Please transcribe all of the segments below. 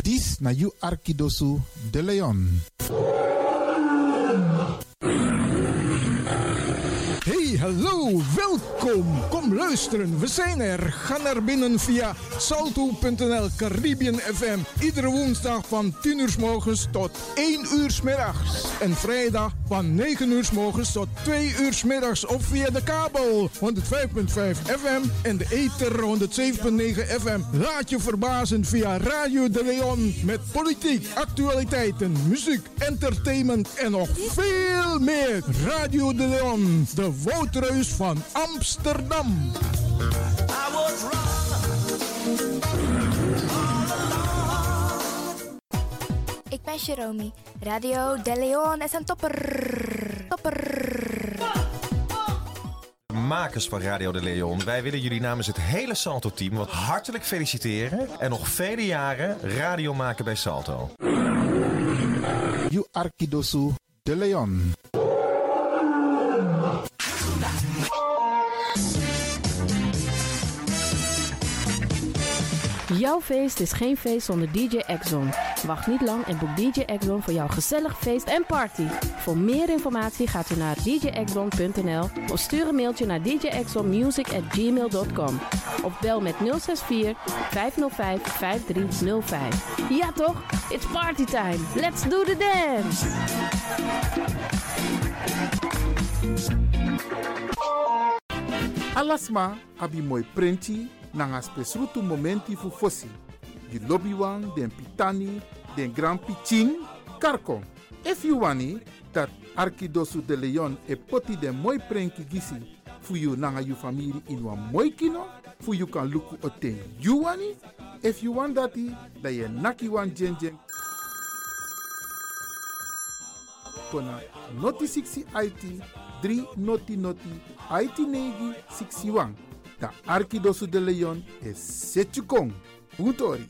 Dis na you Arkidosu de Leon. Hey, hallo, welkom. Kom luisteren, we zijn er. Ga naar binnen via salto.nl Caribbean FM. Iedere woensdag van 10 uur 's morgens tot 1 uur 's middags. En vrijdag van 9 uur 's morgens tot 2 uur 's middags. Of via de kabel 105.5 FM en de ether 107.9 FM. Laat je verbazen via Radio de Leon. Met politiek, actualiteiten, muziek, entertainment en nog veel meer. Radio de Leon, de Woudreus van Amsterdam. Ik ben Jerome. Radio de Leon is een topper. Makers van Radio de Leon, wij willen jullie namens het hele Salto-team wat hartelijk feliciteren en nog vele jaren radio maken bij Salto. You Arkidosu de Leon. Jouw feest is geen feest zonder DJ Exxon. Wacht niet lang en boek DJ Exxon voor jouw gezellig feest en party. Voor meer informatie gaat u naar djexxon.nl of stuur een mailtje naar djexxonmusic@gmail.com of bel met 064 505 5305. Ja toch? It's party time. Let's do the dance! Alasma abi moi prenti nanga spesrutu momenti fu fossi. Di lobby wan, den pitani, den grand pitching, karko. If you wani, dat Arkidosu de Leon e poti den moi prenki gisi fu you nanga you family in wan moi kino, fu you kan luku oten you wani. If you want dati, da ye naki wan jen. Kona noti 60 IT, 3 noti IT negi 61. Da Arkidosu de Leon is Setjukong. Utori.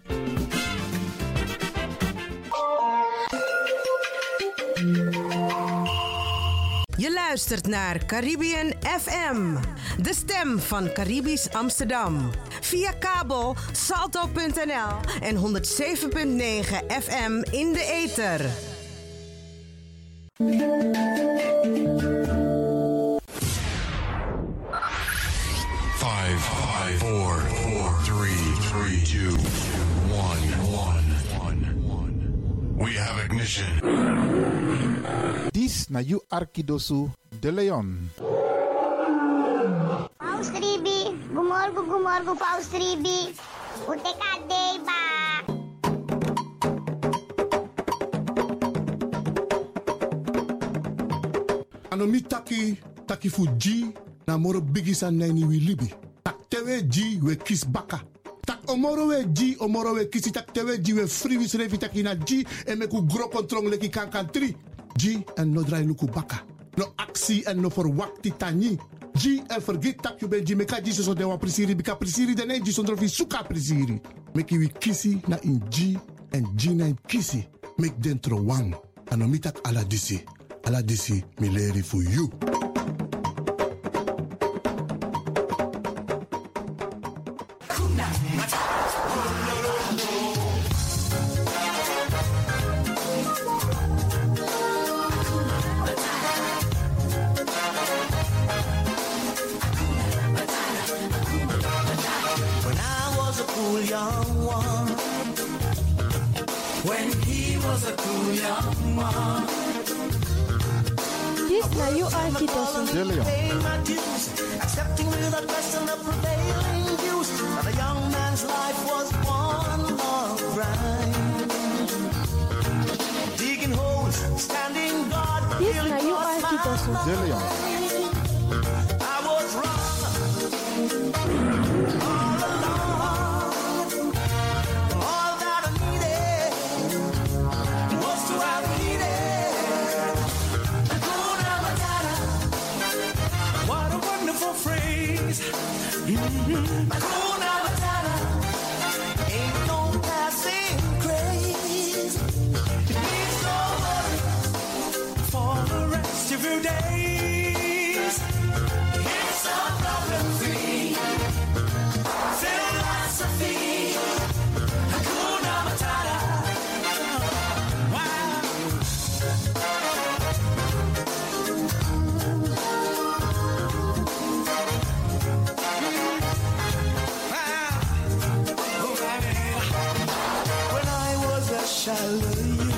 Je luistert naar Caribbean FM, de stem van Caribisch Amsterdam. Via kabel salto.nl en 107.9 FM in de ether. 5, 4, 3, 2, 1. We have ignition. Dis na you Arkidosu de Leon. Paus Ribi, gumorgo Paus Ribi. Uteka deba. Anomi taki fuji na moro bigisa nani wi libi. Tak tewe ji we kis baka. Tak omoro we kisi tak tewe ji we free revi tak ina ji en meku gro kontrong leki kankan 3. Ji en no drai luku baka. No aksi en no forwakti tani. Ji en forget tak you ben ji meka ji so de wa prisiri bika prisiri de ne ji sondro fi suka prisiri. Meki wi kisi na in ji en ji na in kisi. Mek dentro wang. Anomi tak ala disi mileri for you. De Leon. Accepting without question the prevailing views that a young man's life was one long grind. Digging holes, standing guard. Dis na you Arkidosu de Leon. I was wrong all along. All that I needed was to have needed. What a wonderful phrase. Hakuna Matata. Ain't no passing craze. It means no worry for the rest of your days. shallow you.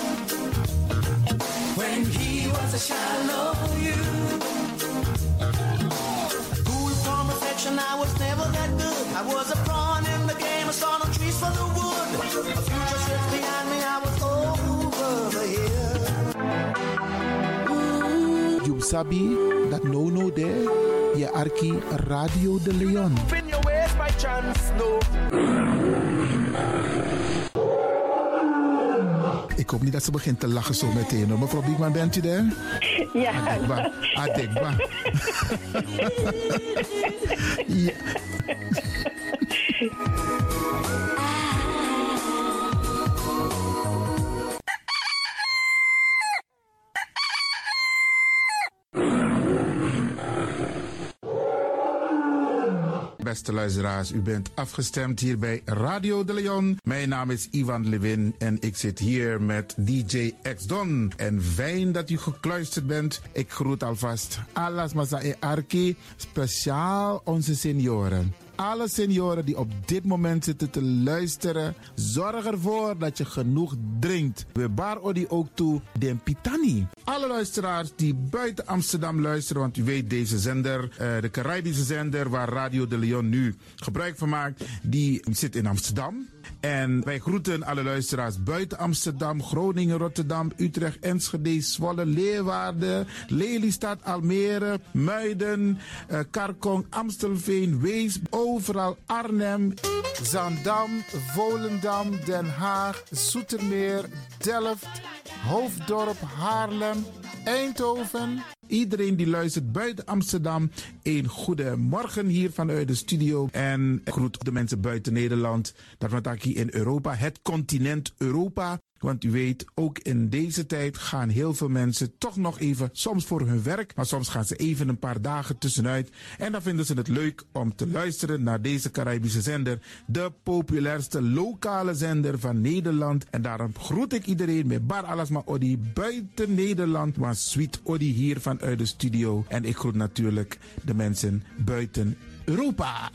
When he was a shallow you. Cool from affection, I was never that good. I was a pawn in the game, I saw no trees for the wood. A future sits behind me, I was over the hill. You sabi that no there. Je arki Radio de Leon. Spin your ways by chance, no. Ik hoop niet dat ze begint te lachen zo meteen. Hoor. Mevrouw Biekman, bent u daar? Ja. Adekba. Ja. Beste luisteraars, u bent afgestemd hier bij Radio de Leon. Mijn naam is Ivan Levin en ik zit hier met DJ X-Don. En fijn dat u gekluisterd bent. Ik groet alvast Alas Masa e Arki, speciaal onze senioren. Alle senioren die op dit moment zitten te luisteren, zorg ervoor dat je genoeg drinkt. We bar odi ook toe den Pitani. Alle luisteraars die buiten Amsterdam luisteren, want u weet deze zender, de Caribische zender waar Radio de Leon nu gebruik van maakt, die zit in Amsterdam. En wij groeten alle luisteraars buiten Amsterdam, Groningen, Rotterdam, Utrecht, Enschede, Zwolle, Leeuwarden, Lelystad, Almere, Muiden, Karkong, Amstelveen, Weesp, overal Arnhem, Zaandam, Volendam, Den Haag, Zoetermeer, Delft, Hoofddorp, Haarlem, Eindhoven. Iedereen die luistert buiten Amsterdam, een goede morgen hier vanuit de studio. En ik groet de mensen buiten Nederland, dat we het hier in Europa, het continent Europa. Want u weet, ook in deze tijd gaan heel veel mensen toch nog even, soms voor hun werk, maar soms gaan ze even een paar dagen tussenuit. En dan vinden ze het leuk om te luisteren naar deze Caribische zender, de populairste lokale zender van Nederland. En daarom groet ik iedereen met Bar Alasma Odi buiten Nederland, maar Sweet Odi hier vanuit de studio. En ik groet natuurlijk de mensen buiten Europa.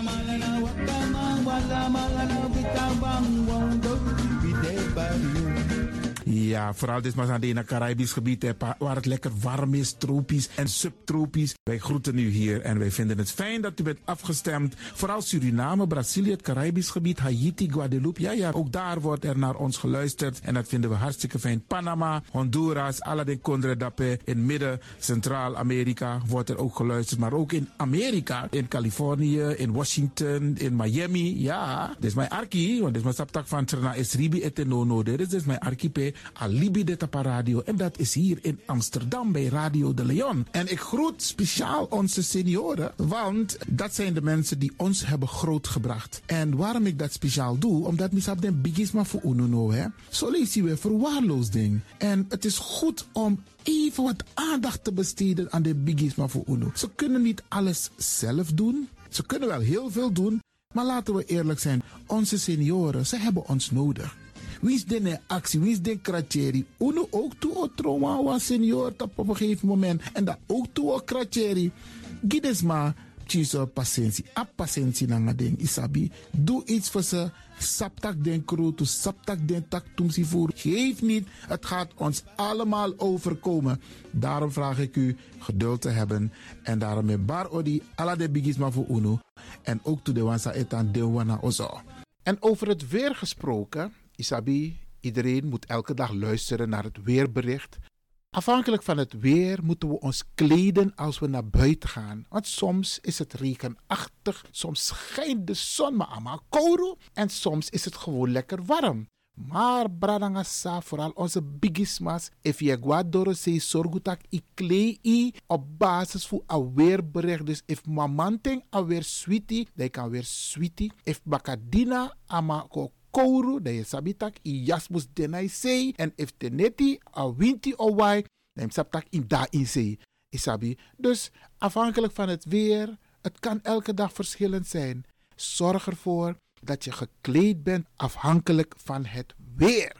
Ja, vooral dit maar aan het Caribisch gebied, waar het lekker warm is, tropisch en subtropisch. Wij groeten u hier en wij vinden het fijn dat u bent afgestemd. Vooral Suriname, Brazilië, het Caribisch gebied, Haiti, Guadeloupe. Ja, ook daar wordt er naar ons geluisterd en dat vinden we hartstikke fijn. Panama, Honduras, Aladdin Condre Dapé, in midden, Centraal-Amerika wordt er ook geluisterd. Maar ook in Amerika, in Californië, in Washington, in Miami. Ja, dit is mijn arki, want dit is mijn saptak van Trena Esribi etenono. Dit is mijn archipel. Alibi de Tapa Radio. En dat is hier in Amsterdam bij Radio de Leon. En ik groet speciaal onze senioren, want dat zijn de mensen die ons hebben grootgebracht. En waarom ik dat speciaal doe, omdat misap den bigisma voor ununo, hè. Zo lees je weer verwaarloosding. En het is goed om even wat aandacht te besteden aan de bigisma voor uno. Ze kunnen niet alles zelf doen. Ze kunnen wel heel veel doen, maar laten we eerlijk zijn. Onze senioren, ze hebben ons nodig. Wie is de actie, wie is de kratjeri? Uno ook toe o trauma wa senior op een gegeven moment. En dat ook toe o kratjeri. Gides maar tjiso patiëntie. A patiëntie na ding isabi. Doe iets voor ze. Saptak den kroto, saptak den tak tumsi voer. Geef niet, het gaat ons allemaal overkomen. Daarom vraag ik u geduld te hebben. En daarom met bar odi ala de bigisma voor uno. En ook toe de wansa etan de wana ozo. En over het weer gesproken, Isabi, iedereen moet elke dag luisteren naar het weerbericht. Afhankelijk van het weer moeten we ons kleden als we naar buiten gaan. Want soms is het regenachtig, soms schijnt de zon maar allemaal kouro en soms is het gewoon lekker warm. Maar bradangasa, vooral onze bigismas, if je guadoro se sorgutak i klei op basis van een weerbericht. Dus if mamanting alweer sweetie, dan kan weer sweetie. If bakadina ama kouru, dat je sabitak i jasmus denai sei. En if teneti a winti owai, dan sabitak in da in sei. Isabi. Dus afhankelijk van het weer, het kan elke dag verschillend zijn. Zorg ervoor dat je gekleed bent afhankelijk van het weer.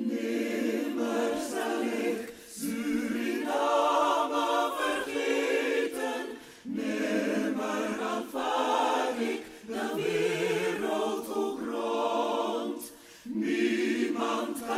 Nimmer zal ik Suriname vergeten. Nimmer aanvaard ik de wereld ook rond. Niemand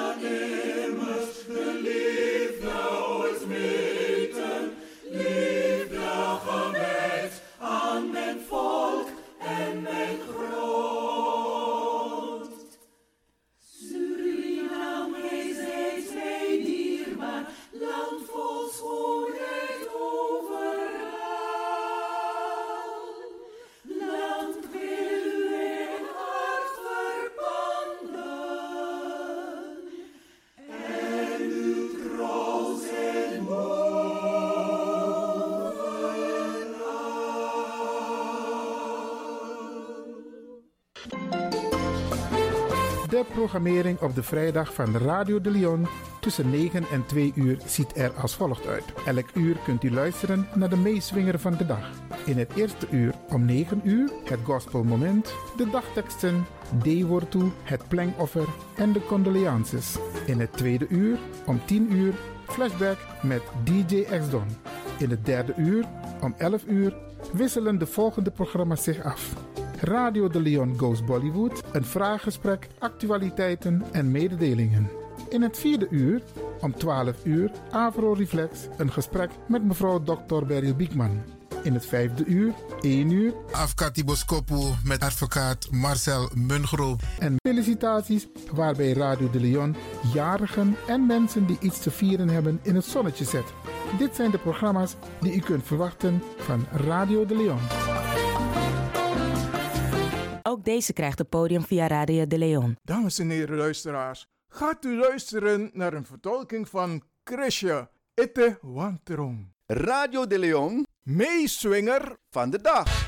De programmering op de vrijdag van Radio de Leon tussen 9 en 2 uur ziet er als volgt uit. Elk uur kunt u luisteren naar de meeswinger van de dag. In het eerste uur om 9 uur het gospelmoment, de dagteksten, D-woord toe, het plengoffer en de condolences. In het tweede uur om 10 uur flashback met DJ X-Don. In het derde uur om 11 uur wisselen de volgende programma's zich af. Radio de Leon Goes Bollywood, een vraaggesprek, actualiteiten en mededelingen. In het vierde uur om 12 uur Avro Reflex, een gesprek met mevrouw Dr. Beryl Biekman. In het vijfde uur, 1 uur, Afkati Boskopu met advocaat Marcel Mungroop. En felicitaties waarbij Radio de Leon jarigen en mensen die iets te vieren hebben in het zonnetje zet. Dit zijn de programma's die u kunt verwachten van Radio de Leon. Ook deze krijgt het podium via Radio de Leon. Dames en heren luisteraars, gaat u luisteren naar een vertolking van Krisje Ette Wanterong. Radio de Leon, meeswinger van de dag.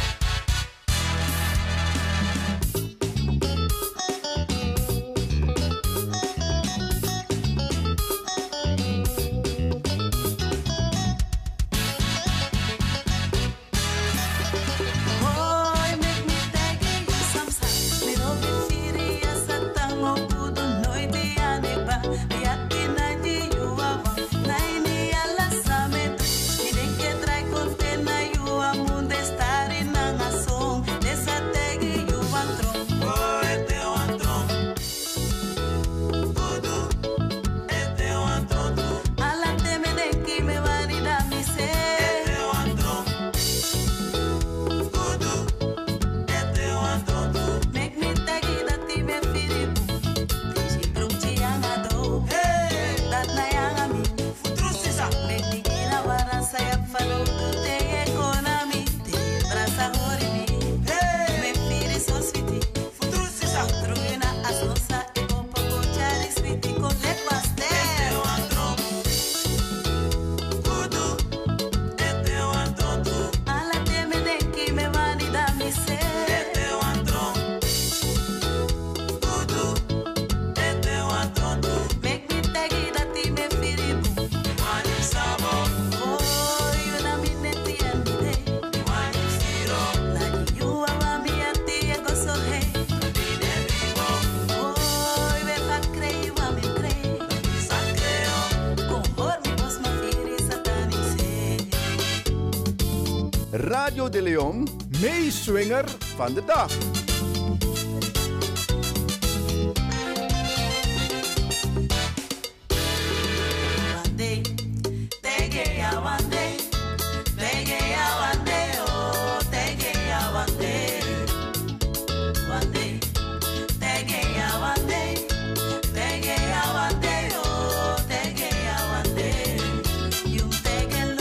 Radio de Leon, meeswinger van de dag.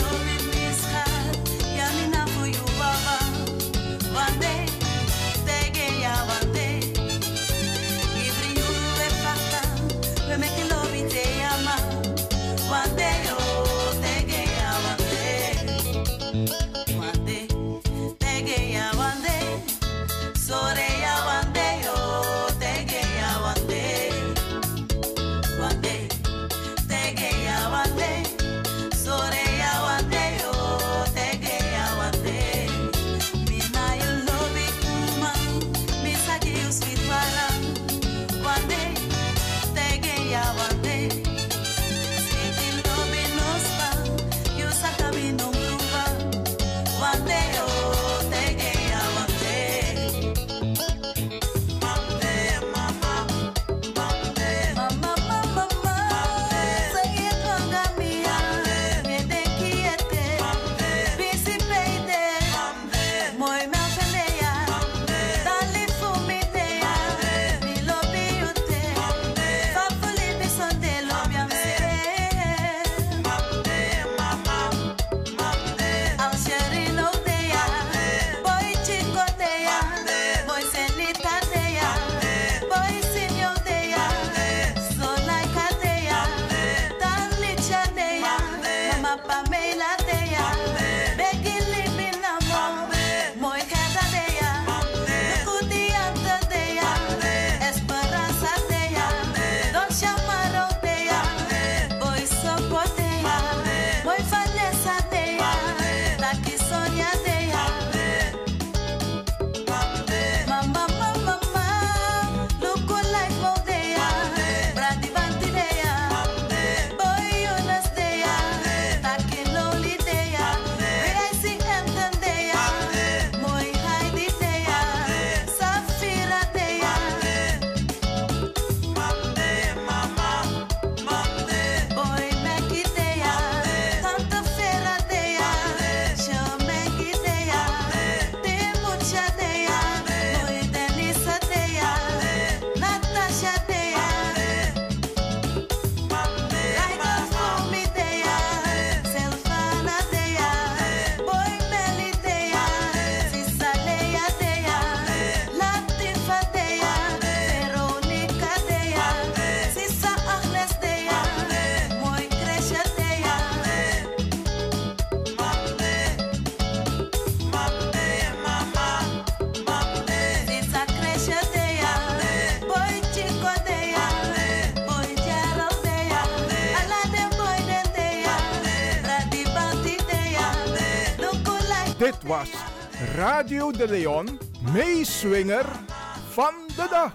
Take was Radio de Leon, meeswinger van de dag.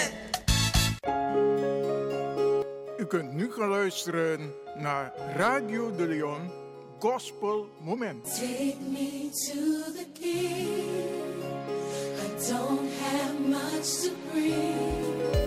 U kunt nu gaan luisteren naar Radio de Leon Gospel Moment. Take me to the King. I don't have much to bring.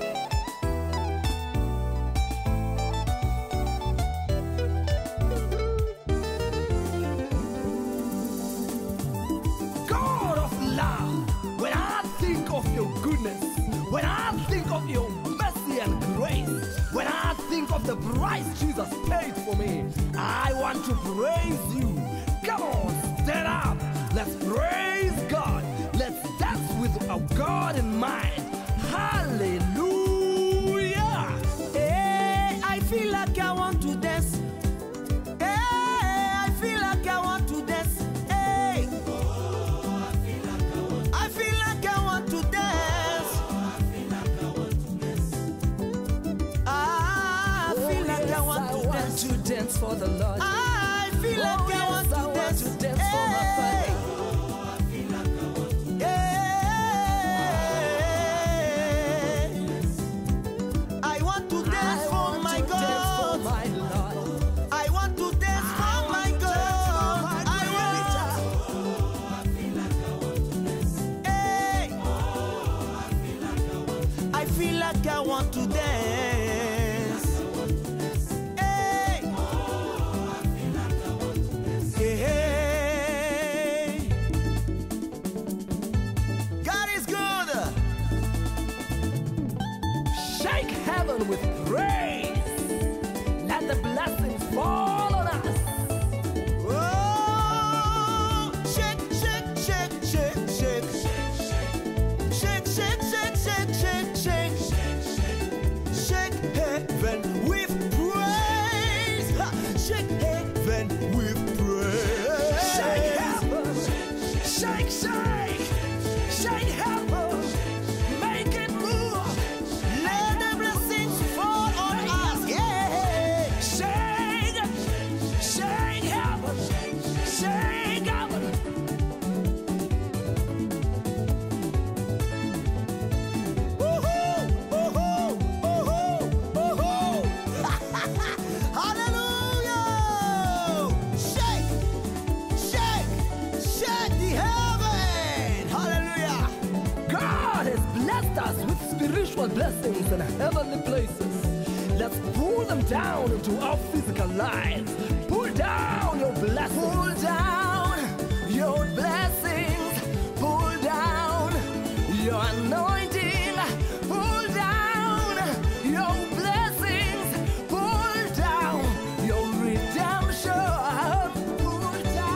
God of love, when I think of your goodness, when I think of your mercy and grace, when I think of the price Jesus paid for me, I want to praise you. Come on, stand up. Let's praise God. Let's dance with our God in mind. Hallelujah. Hey, I feel like I want to dance. Hey, I feel like I want to dance. Hey, I feel like I want to dance. I feel like I want to dance. To dance for the Lord. I feel like I want to dance. Dance for my Father. I want to dance for my God. I want to dance for my God. I feel like I want to dance. Hey, God is good. Shake heaven with praise. Let the blessings fall on us. Oh, shake, shake, shake, shake, shake. Shake, shake, shake, shake, shake, shake. Shake heaven with praise. Ha, shake heaven with praise. Shake heaven. Shake, shake. Shake heaven. Make it move. Let the blessings fall on us. Yeah. Shake. Shake heaven. Shake heaven. Hallelujah! Shake, shake, shake the heaven. Hallelujah! God has blessed us with spiritual blessings in heavenly places. Let's pull them down into our physical lives. Pull down your blessings. Pull down your blessings. Pull down your anointing. Pull down your blessings. Pull down your redemption. Pull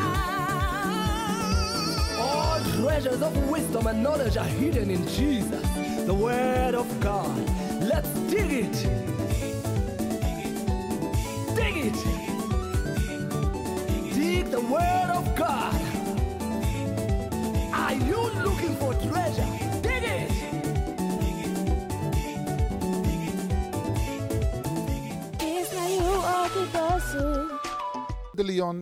down. All treasures of wisdom and knowledge are hidden in Jesus, the Word of God. Let's dig it. Dig it. Dig the Word of God. Are you looking for treasure? Dig it. It's like you all the bosses. De Leon.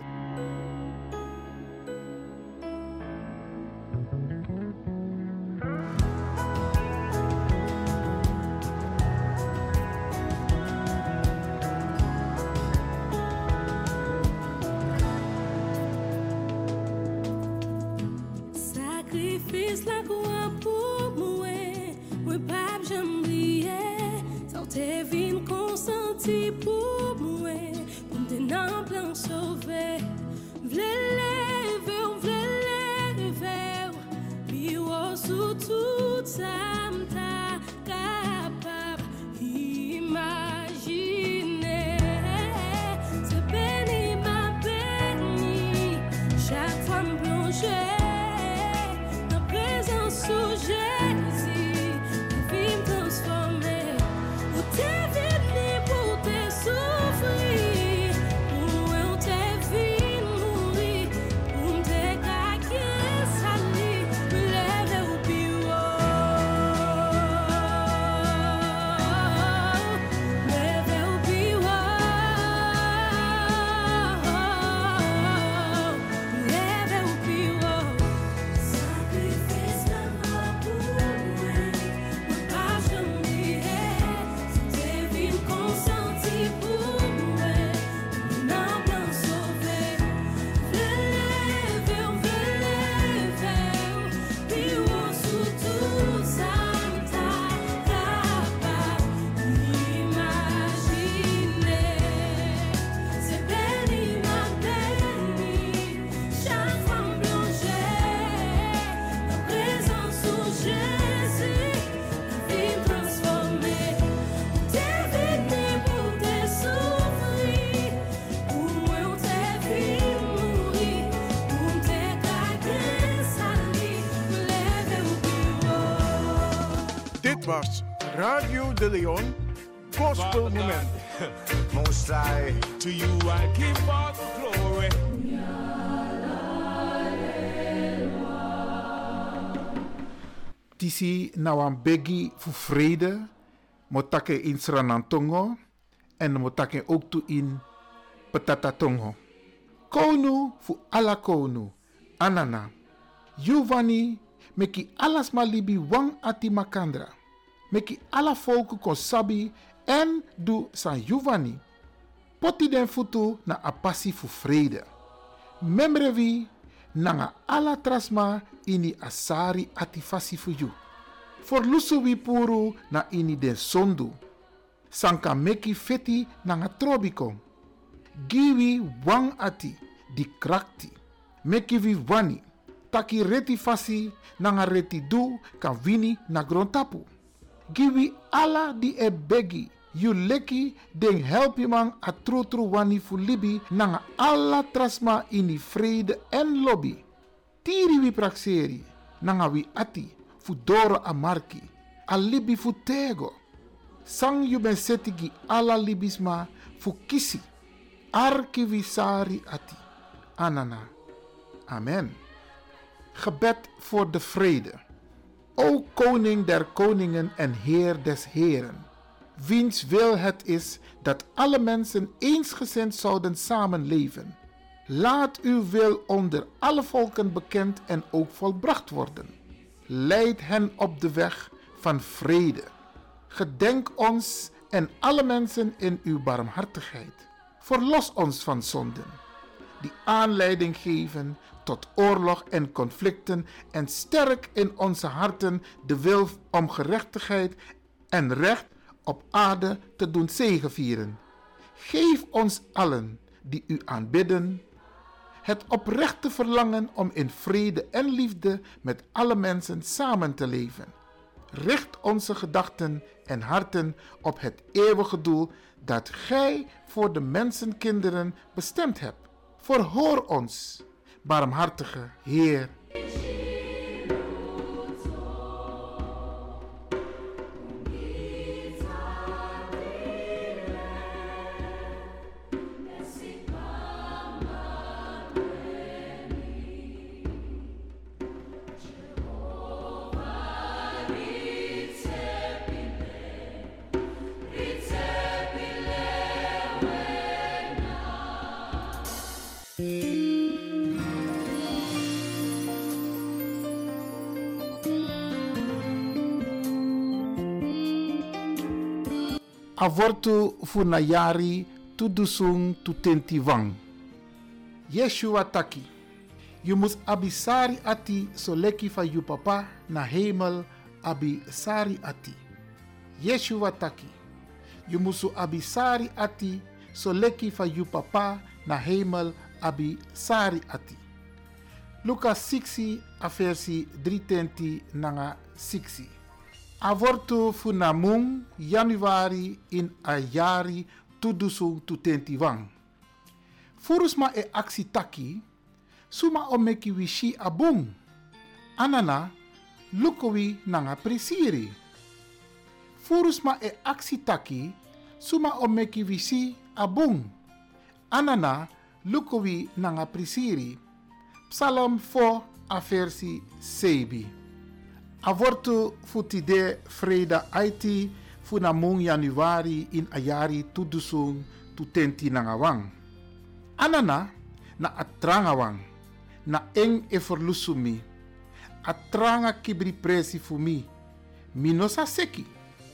Sacrifice la croix pour moi, moi pas j'oublier. Tant t'es vin consenti pour moi, pour me tenir en plein sauver. V'le lever, puis sous tout ça m'ta capable imaginer. C'est béni ma béni, chaque fois me plonger. Sous Jésus, la vie me transformer. Où t'es venu pour te souffrir, où t'es venu mourir. Dit was Radio De Leon Gospel Moment. Most High, to you I give all the glory. Tisi na wan begi fu vrede, motake in Sranantongo en motake ook toe in Petatatongo. Konu fu ala konu, anana. Giovanni meki alas malibi wang ati makandra. Meki ala volku konsabi en du san Giovanni. Poti den futu na apasi fu vrede. Memrevi nanga ala trasma ini asari ati fasi fu you. For lusu wipuru na ini den sondu. Sanka meki feti nanga trobiko. Giwi wang ati di krakti. Meki vi wani. Taki reti fasi nanga reti du kan wini na grontapu. Giwi ala di e begi. You leki den helpi man a trutru wani fu libi nanga alla trasma ini vrede en lobby. Tiri wi praxeri nanga wi ati fu doro a marki. A libi fu tego. Sang you ben setigi alla libisma fu kisi. Arki wi sari ati. Anana. Amen. Gebed voor de vrede. O koning der koningen en heer des heren. Wiens wil het is dat alle mensen eensgezind zouden samenleven. Laat uw wil onder alle volken bekend en ook volbracht worden. Leid hen op de weg van vrede. Gedenk ons en alle mensen in uw barmhartigheid. Verlos ons van zonden, die aanleiding geven tot oorlog en conflicten en sterk in onze harten de wil om gerechtigheid en recht op aarde te doen zegevieren. Geef ons allen die u aanbidden het oprechte verlangen om in vrede en liefde met alle mensen samen te leven. Richt onze gedachten en harten op het eeuwige doel dat gij voor de mensenkinderen bestemd hebt. Verhoor ons, barmhartige Heer. Avortu funayari tudusung tutentiwang. Yeshua taki. Je mus abisari ati soleki van je papa na hemel abisari ati. Yeshua taki. Je musu abisari ati soleki van je papa na hemel abisari ati. Lucas 6 aversi 320 nanga 6. Avortu funamung Januari in ayari tudusung tutentiwang. Furusma e aksi taki, suma omeki wishi abung. Anana, lukowi nanga prisiri. Furusma e aksi taki, suma omeki wishi abung. Anana, lukowi nanga prisiri. Psalm 4 aversi 7. Avortu futide freda aiti funamung Januari in ayari tudusung tutenti nangawang. Anana na atrangawang na eng e forlusumi. Atranga kibri presi fumi. Minosa seki.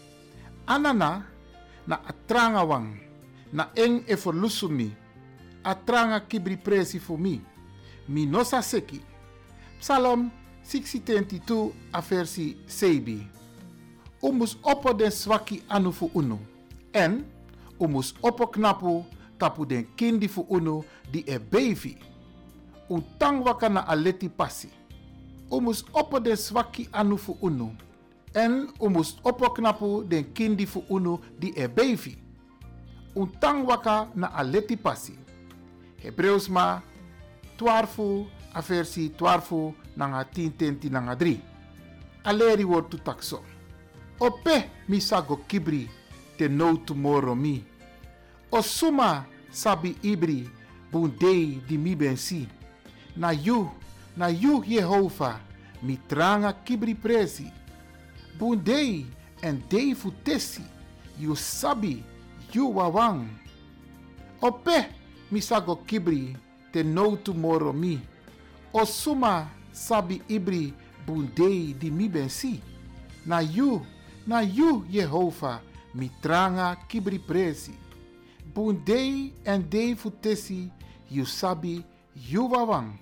Anana na atrangawang na eng e forlusumi. Atranga kibri presi fumi. Minosa seki. Psalm 6:22 aversi 7. Umus oppo den swaki anu fu unu. En umus oppo knapu tapu den kindi fu unu di e bevi. Untang waka na aleti pasi. Umus oppo den swaki anu fu unu. En umus oppo knapu den kindi fu unu di e bevi. Untang waka na aleti pasi. Hebreus ma 12 aversi 12 nanga 10 nanga 3. Aleri woord tu takso. Ope misago kibri te no tomorrow mi. Osuma sabi ibri bundei di mi bensi. Na you Jehovah, mi tranga kibri presi. Bundei en dei futesi, you sabi, you wawang. Ope misago kibri te no tomorrow mi. Osuma sabi ibri bundei di mi bensi. Na you Jehovah, mi tranga kibri presi. Bundei en dei futesi, you sabi, you wawang.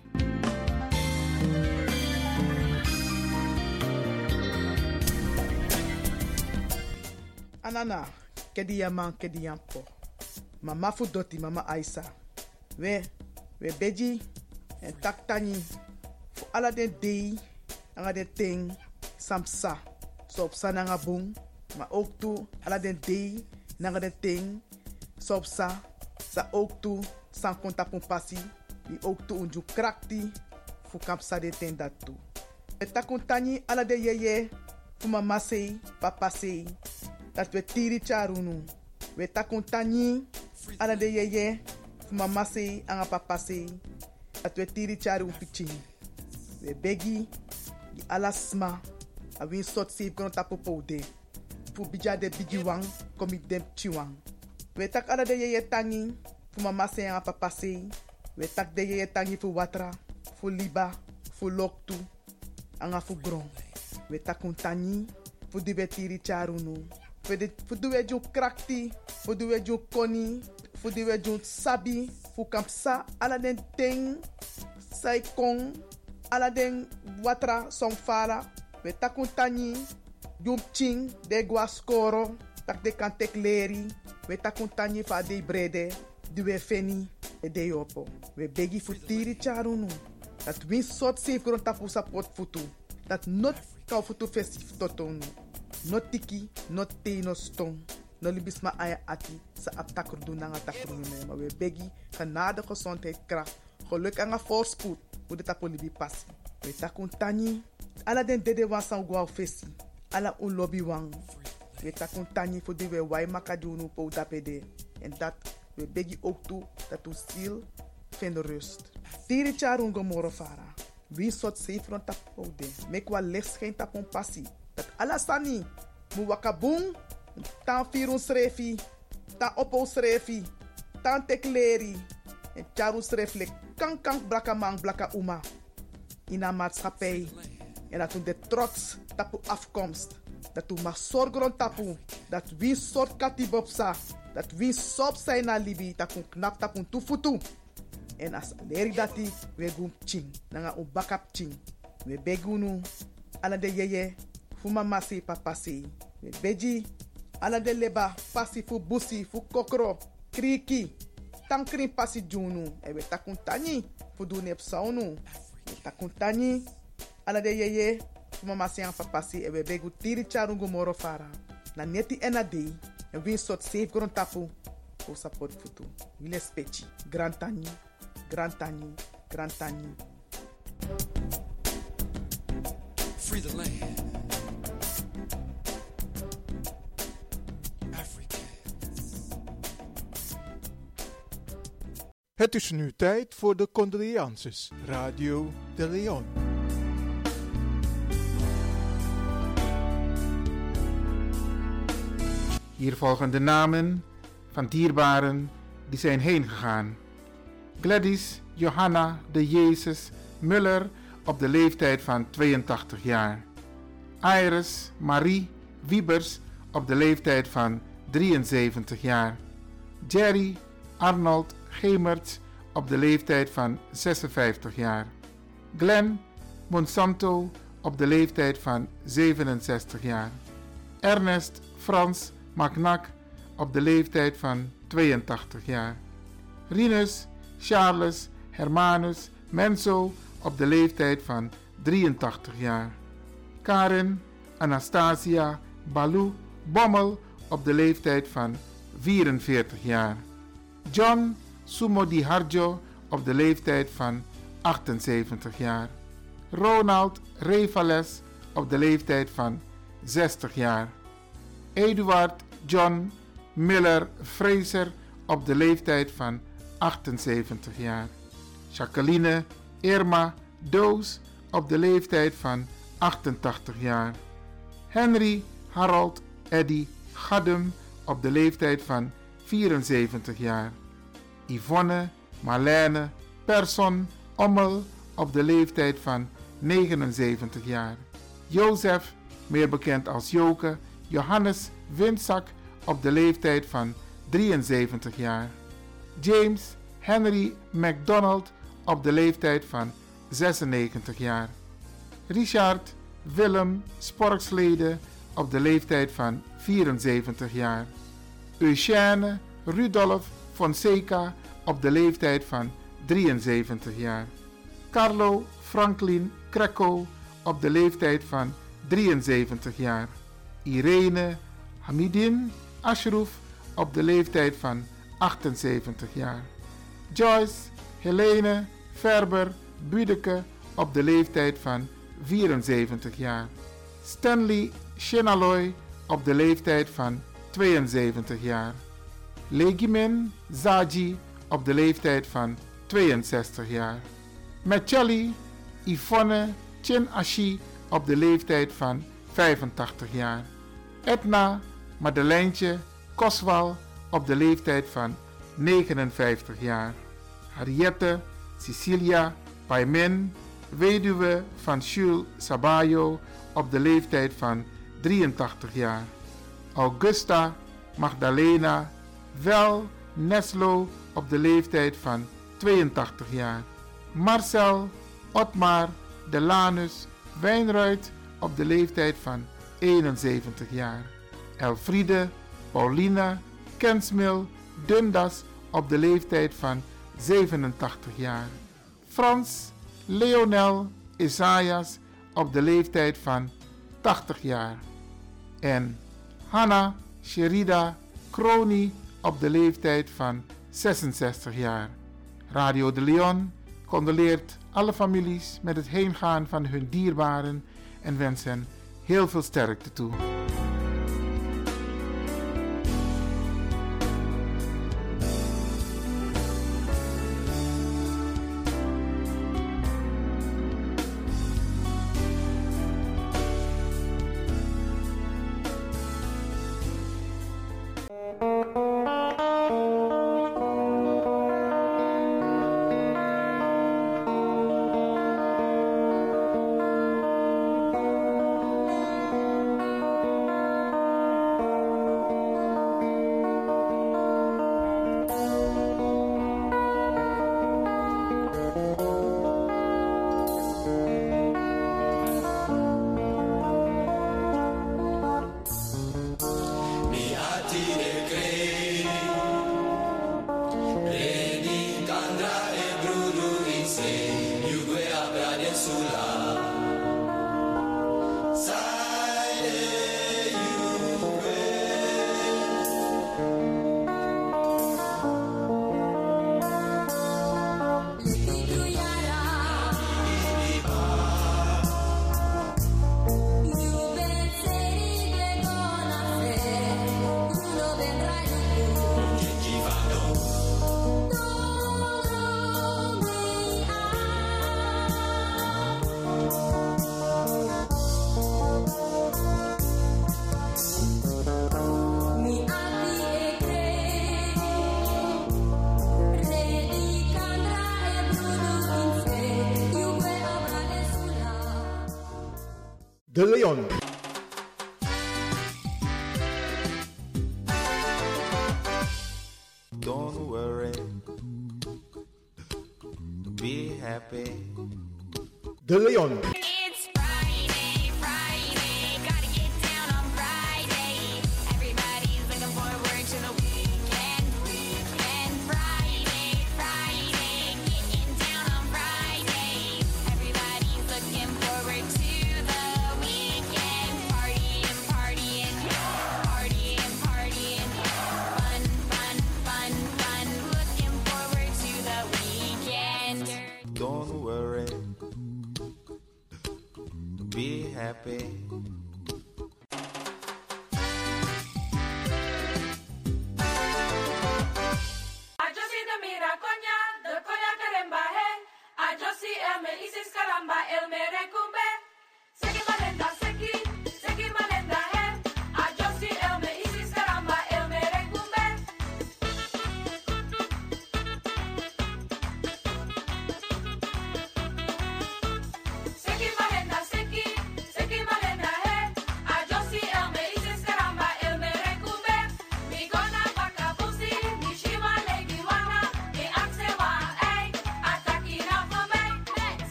Anana, kedi yaman po. Mama fudoti, mama Aisa. We beji en taktani. Fu ala den dei, anga den ting, samsa. So op sa nanga boom, maar ook toe, ala den dei, nanga den ting, so op sa ook toe, san konta pon passi, die ook toe unju krakti, fu kapsa de ten dat toe. Eta kontani ala de yeye, fu mama sei, papa sei, dat we tiri charunu. We ta kontani ala de yeye, fu mama sei, anga papa sei, dat we tiri charu piching. We begi, di ala sma, a win sot save kono tapo poude. Fu bija de bigi wang, komi dem chiwang. We tak ala de yeye tangi, fu mama sei anga papa sei. We tak de yeye tangi fu watra, fu liba, fu loktu, anga fu gron. We tak kontani, fu di betiri charunu. Fu di we jun krakti, fu di we jun koni, fu di we jun sabi, fu kampsa ala den ting, sai kong, ala den watra som fara. We tak kontani, jun ching, de guascoro, tak de kantek leri. We tak kontani fa de brede, di we feni, e de yopo. We begi fu tiri charunu. Dat win sot safe grond tapu support futu. Dat not kau futu festif totonu. Not tiki, not te, no stong. No libisma aya ati, sa aptakur doen na takur nume. Maar we begi, genade, gezondheid, kracht. Geluk en een voorspoed, hoe de tapu libi passi. We takun tani, ala den dede wan san guau fesi. Ala un lobby wang. We takun tani voor die we wai makadunu po dapede. En dat we begi ook toe, dat u ziel vindt rust. Tiri charun gomoro fara. Wie soort zeefron tapo de. Mek wa licht geen tapon passi. Dat alasani. Mu wakabung. Tan firun srefi. Tan opo srefi. Tan tekleri. En charun sreflek. Kank blaka mang blaka uma. In een maatschappij. En dat u de trots tapu afkomst. Dat u mag zorgen tapu. Dat wie soort katibopsa. Dat wie sop zijn na libi. Dat u knap tapu tufutu. En as leri dati we gum ching. Nanga un bakap ching. We begunu. Ala de yeye. Fu mama se papa se. We beji. Ala de leba. Pasi fu busi. Fu kokro. Kriki. Tankrin pasi junu. E we takuntani. Fu du nep saunu. We takuntani. Ala de yeye. Fu mama se an papa se. E we begu tiri charungu moro fara. Na neti ena dei. En win sot safe gron tapu. O support futu. Wile spechi. Grantani. Grantani. Grantani. Free the land. Het is nu tijd voor de condolences. Radio de Leon. Hier volgen de namen van dierbaren die zijn heen gegaan. Gladys Johanna de Jezus Muller op de leeftijd van 82 jaar. Iris Marie Wiebers op de leeftijd van 73 jaar. Jerry Arnold Gemerts op de leeftijd van 56 jaar. Glenn Monsanto op de leeftijd van 67 jaar. Ernest Frans Magnac op de leeftijd van 82 jaar. Rinus Charles Hermanus Menso op de leeftijd van 83 jaar. Karin Anastasia Balou Bommel op de leeftijd van 44 jaar. John Sumodi Harjo op de leeftijd van 78 jaar. Ronald Revales op de leeftijd van 60 jaar. Eduard John Miller Fraser op de leeftijd van 78 jaar. Jacqueline Irma Doos op de leeftijd van 88 jaar. Henry Harold Eddy Gaddum op de leeftijd van 74 jaar. Yvonne Marlene Persson Ommel op de leeftijd van 79 jaar. Jozef, meer bekend als Joke, Johannes Windzak op de leeftijd van 73 jaar. James Henry MacDonald op de leeftijd van 96 jaar. Richard Willem Sporkslede op de leeftijd van 74 jaar. Eugène Rudolf Fonseca op de leeftijd van 73 jaar. Carlo Franklin Krekko op de leeftijd van 73 jaar. Irene Hamidin Ashraf op de leeftijd van 78 jaar. Joyce Helene Ferber Budeke op de leeftijd van 74 jaar. Stanley Shenaloy op de leeftijd van 72 jaar. Legimin Zaji op de leeftijd van 62 jaar. Mecheli Yvonne Chin Ashi op de leeftijd van 85 jaar. Edna Madeleintje Koswal op de leeftijd van 59 jaar. Harriette Cecilia Paimen, weduwe van Jules Sabayo op de leeftijd van 83 jaar. Augusta Magdalena Wel Neslo op de leeftijd van 82 jaar. Marcel Otmar Delanus Wijnruid op de leeftijd van 71 jaar. Elfriede Paulina Kensmil Dundas op de leeftijd van 87 jaar. Frans Leonel Isaias op de leeftijd van 80 jaar. En Hanna Sherida Kroni op de leeftijd van 66 jaar. Radio de Leon condoleert alle families met het heengaan van hun dierbaren en wens hen heel veel sterkte toe. De Leon. Don't worry, be happy. De Leon. It's Friday, Friday, gotta get down on Friday. Everybody's looking forward to the weekend, weekend. Friday, Friday, getting down on Friday. Everybody's looking forward to the weekend. Partying, partying, partying, partying. Fun, fun, fun, fun. Looking forward to the weekend. Don't worry, be happy.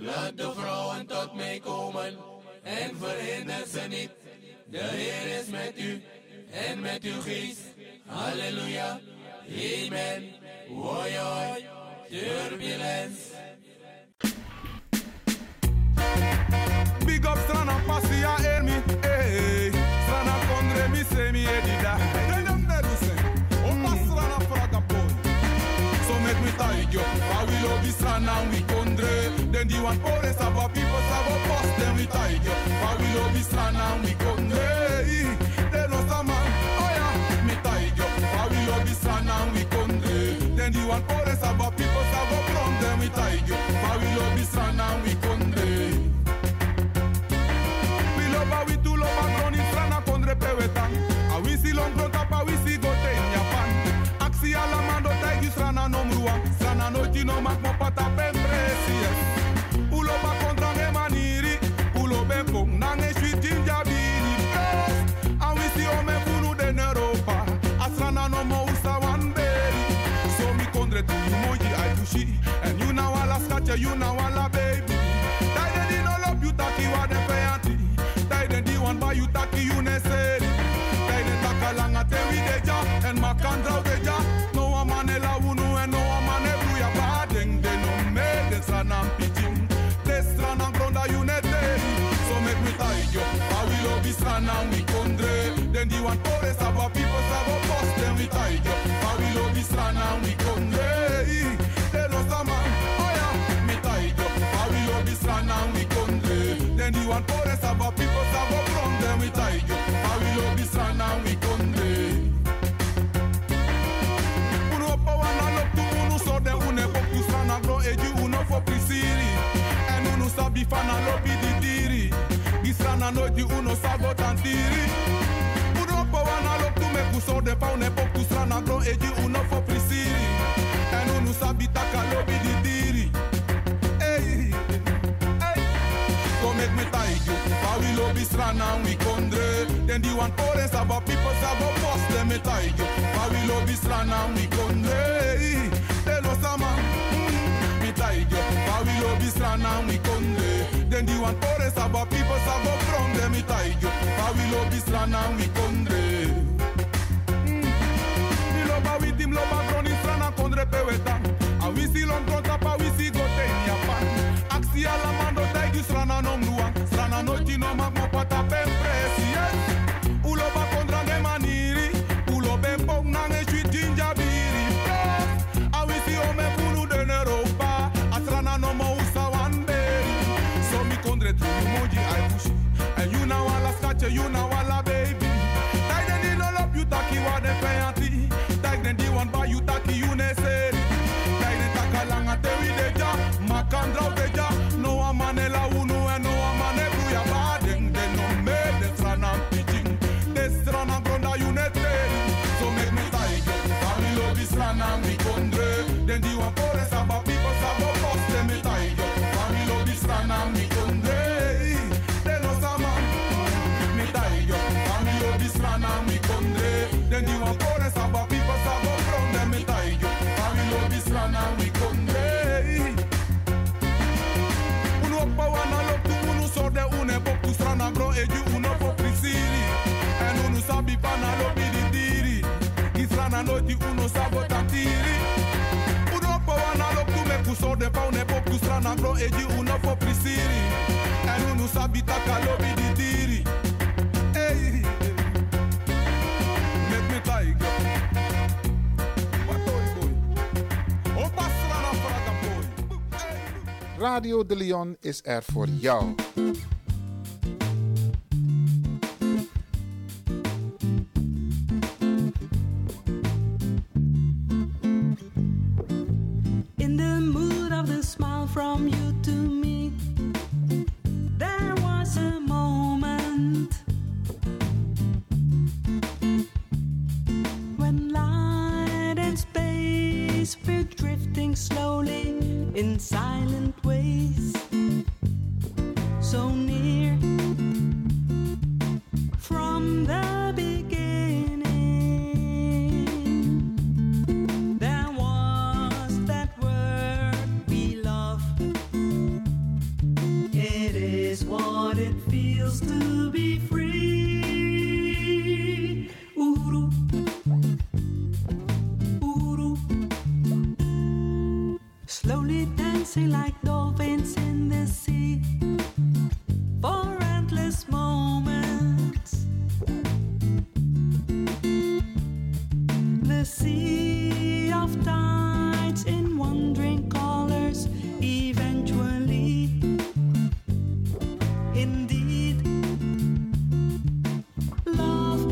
Laat de vrouwen tot mij komen en verhinder ze niet. De Heer is met u en met uw geest. Halleluja, amen. Hoi hoi, turbulence. Big up strana passia ermi, eh. Strana kondre mi semi edida. Denam neruse, o pasrana fraga boy. So make me tight yo, I will love strana we kondre. Then the one for the saba people saba post them we tight yo. I will love strana we kondre. Then no sama, oh yeah, me tight yo. I will love strana we kondre. Then the one for the saba people saba from them we tight yo. I will love strana we kondre. We do loba groni strana kondre pewetan. A we si long pronta pa we si gote in Japan. Aksi ala mando taigi strana no mrua. Strana no tino mak mo pata pempresies. Uloba kontra ne maniri. Ulobe pong nange sweet ginger bini. A we si ome funu den Europa. A strana no mo usa one berry. So mi kondre tu you moji I tushi. And you na wala skache you na wala baby. Dai de di no love you taki wa de peanti. One by you taki you neseri. Dai de takalanga te we deja and makandra deja. No a manela unu and no a mane bruya badeng de no me de strana pitching. De strana gronda you neteri. So make me tie yo. I will love this strana we kondre. Then the one for the saba people saba post them we tie yo. I will love this strana we kondre. De no sama, oh yeah, me tie yo. I will love this strana we kondre. Then the one for the saba people saba from them we tie yo. I will love this strana we kondre. Uno pa wana lop tu uno so de une pop tu strana gro eju uno for prisiri. En uno sabi fana lobi di diri. Di strana no di uno sago tantiri. Uno pa wana lop tu me kuso de pa une pop tu strana gro eju uno for prisiri. En uno sabi taka lobi di diri. Hey, hey. Go make me tie you. I will love this strana we kondre. Then the one for the saba people saba post them me tie you. I will love this strana we kondre. Tell us sama, me tie you. I will love this strana we kondre. Then the one for the saba people saba from them me tie you. I will love this strana we kondre. Me loba with him loba groni strana kondre peweta. A we si long pronta pa we si gote in Japan. Aksi ala mando taigi strana no mrua. Strana no tino mak mo pata pempresies. Uloba kontra ne maniri. Ulobe pong nange sweet ginger biri. A we si ome funu den Europa. A strana no mo usa one berry. So mi kondre tu moji I pushi. And you na wala skache you na wala baby. Dai den di no love you taki wa de peanti. Dai den di one by you taki you neseri. Dai den takalanga te we deja. Makandra deja. No a manela unu and no a mane bruya badeng. De no me de strana pitching. De strana gronda you neteri. So make me tie you. I love this strana we kondre. Then the one for the saba people saba post them me tie you. I love this strana we kondre. De no sama, me tie you. I love this strana we kondre. Then the one for the saba people saba from them me tie you. I love this strana we kondre. Uno pa wana lop tu uno so de une pop tu strana gro eju uno for prisiri. En uno sabi pana lobi di diri. Ki strana no di uno sabo tantiri. Uno pa wana lop tu me kuso de pa une pop tu strana gro eju uno for prisiri. En uno sabi taka lobi di diri. Hey, make me tiger. Radio de Leon is er voor jou. In the mood of the smile from you to me, there was a moment when light and space were drifting slowly in silent ways, so near from the beginning. There was that word we love, slowly dancing like dolphins in the sea, for endless moments. The sea of tides in wandering colors, eventually, indeed, love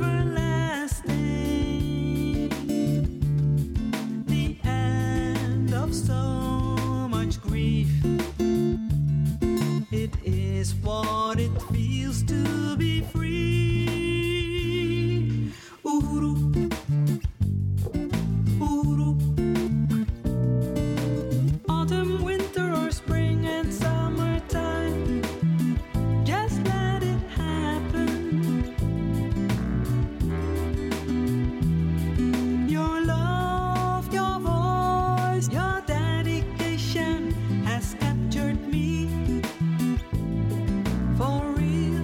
everlasting, the end of so much grief. It is what it feels to be free. Uhuru, uhuru. Autumn, winter, or spring and summertime, just let it happen. Your love, your voice, your dedication has captured me. For real,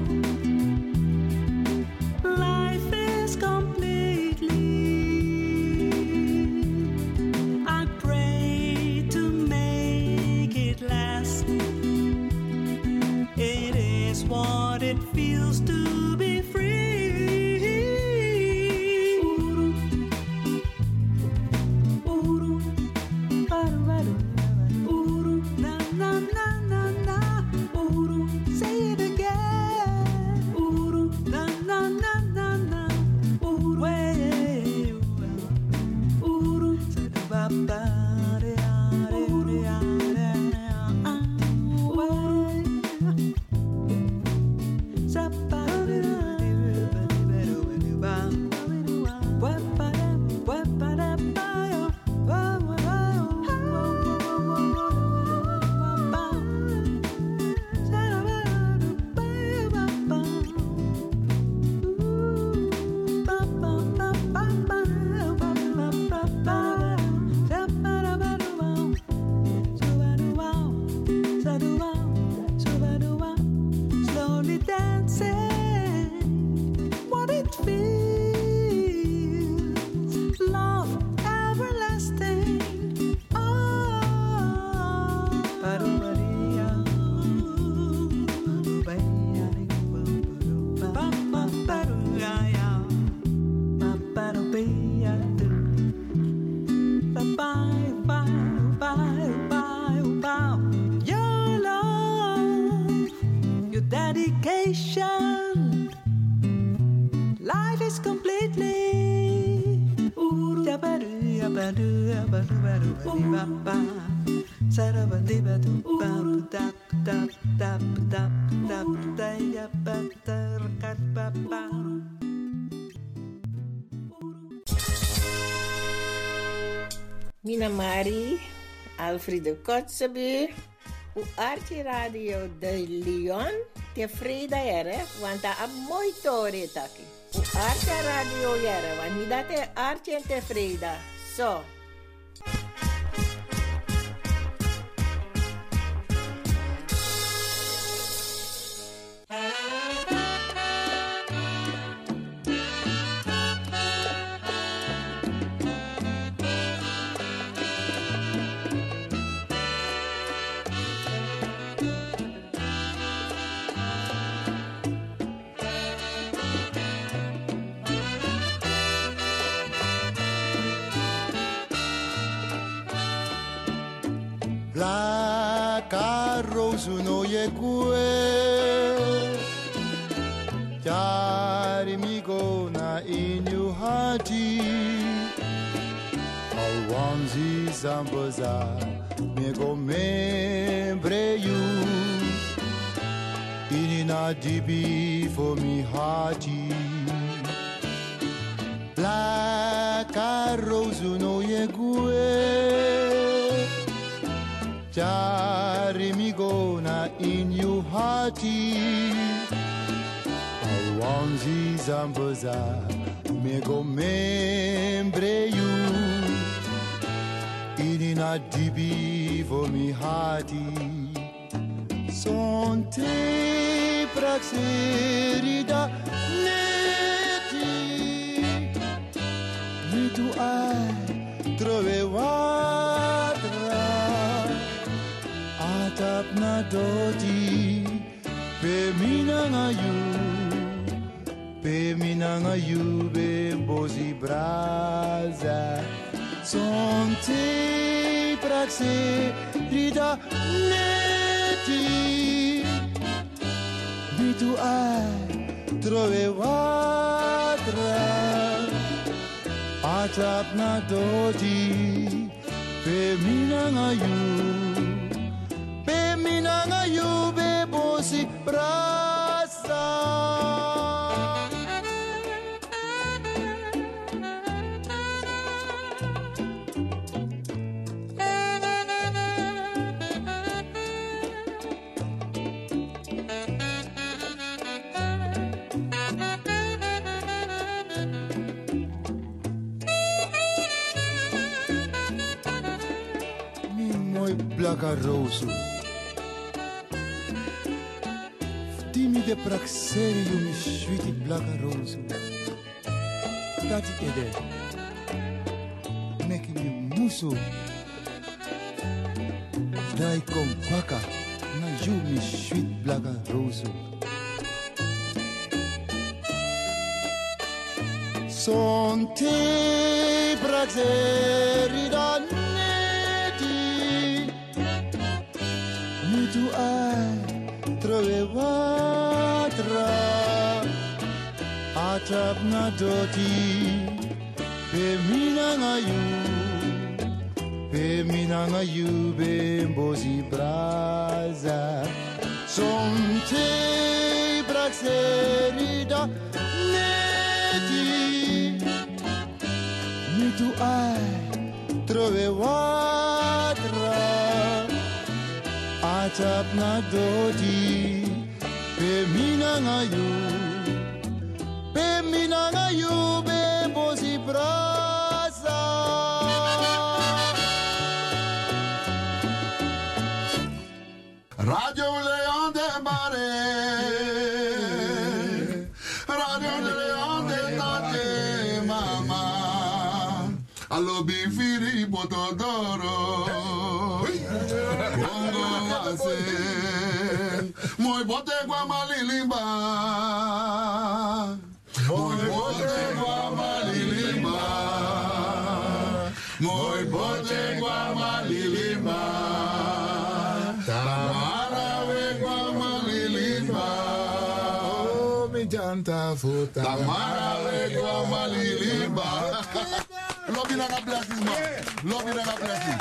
life is completely. I pray to make it last. It is what it feels to be free. Uhuru, uhuru, baru, baru, uhuru, na na na na na, uhuru, say it again, uhuru, na na na na na, uhuru, way, uhuru, say the baba, uhuru, slowly dancing, what it feels, love everlasting. Your love, your dedication, life is completely. Mina Mari, Alfredo Kotzebue, u Archie Radio de Leon, tevreden jere, want dat is mooi tori taki. U Archie Radio jere, want niet dat is Archie tevreden. Zo. La rose no ye kue, jari mi gona in your hearty. Alwanzi zambaza me go membre you. Inina dibi for me hearty. La rose no ye kue. Jari mi gona in you hearty. Alwanzi zambaza me go membre you. Inina dibi for me hearty. Sonte praxerida neti. Me tu ai trove watra. Atap na doti, pe minanga you, be bozi braza. Sonte praxe rida neti, bitu ai trove watra. Atap na doti, pe minanga you, be bozi braza. Blaga roso, timide praxerio mi sweetie blaga roso. Tati ede, meki mi muso. Dai kom baka, na you mi sweet blaga roso. Sonte praxeri dan. Tu ai trove watra, atap na doti, pe minanga you, be bozi braza. Sonte braxerida neti, mi tu ai trove watra. Atap na doti, pe minanga you, be bozi braza. Radio Leon de Mare, Radio Leon de Tate Mama, allo bifiri botodoro. Moi bote gua malilimba, moi bote gua malilimba, moi bote gua malilimba, tamara we gua malilimba, oh mi janta futa, tamara we gua malilimba. Love you, God bless you, man. Love you, God bless you.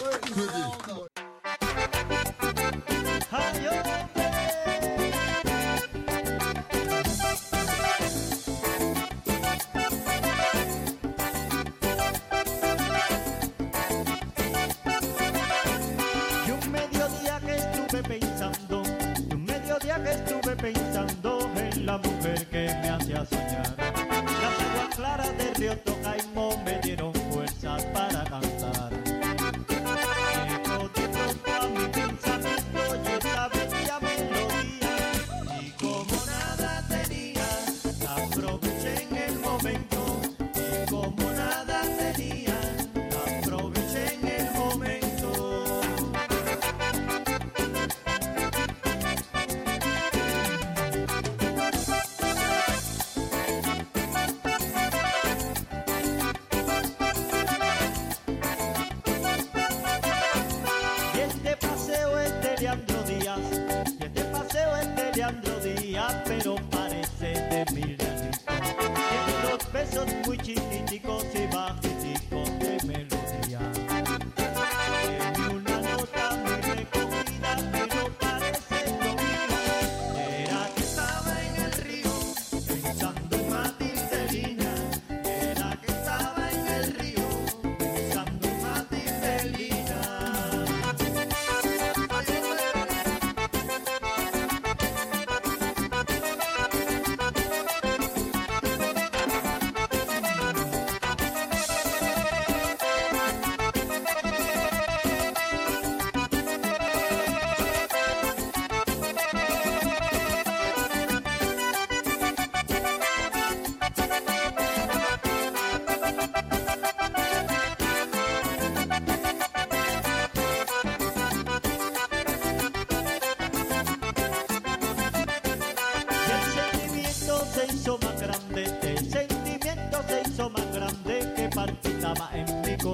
Pensando en la mujer que me hacía soñar. Las aguas claras del río Tocaimo me dieron fuerzas para cantar. Llegó de pronto a mi pensamiento y esta bella melodía, y como nada tenía, la aproveché en el momento. Y como nada tenía, la aproveché en el momento.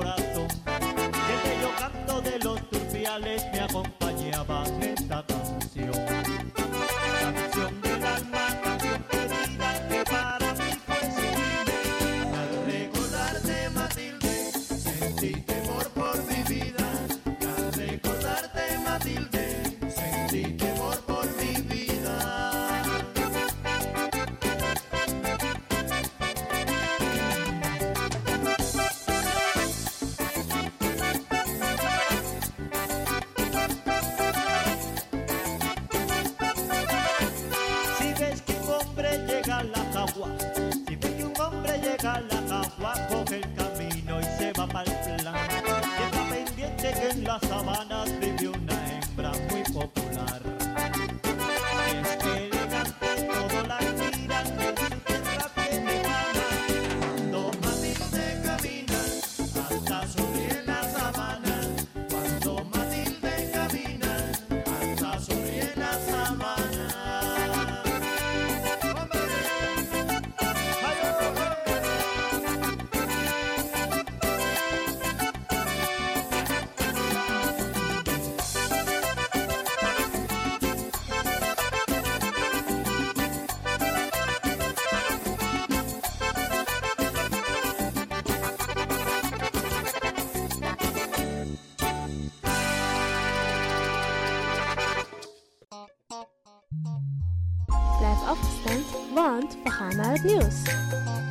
corazón. Y el bello canto de los turpiales me acompañaba en esta canción. Canción del alma, canción querida, que para mí fue sublime. Al recordarte, Matilde, sentí temor por mi vida. Al recordarte, Matilde, sentí temor por mi vida. Si ves que un hombre llega a la cagua, si ves que un hombre llega a la cagua, coge el camino y se va para el plan. Y está pendiente que en las sabanas vive una hembra muy popular. Y es que elegante, todo la admiran, en su tierra tiene fama. Cuando Matilde camina, hasta sonríe la sabana. Cuando Matilde camina, hasta sonríe la sabana. Blijf afgestemd, want we gaan naar het nieuws.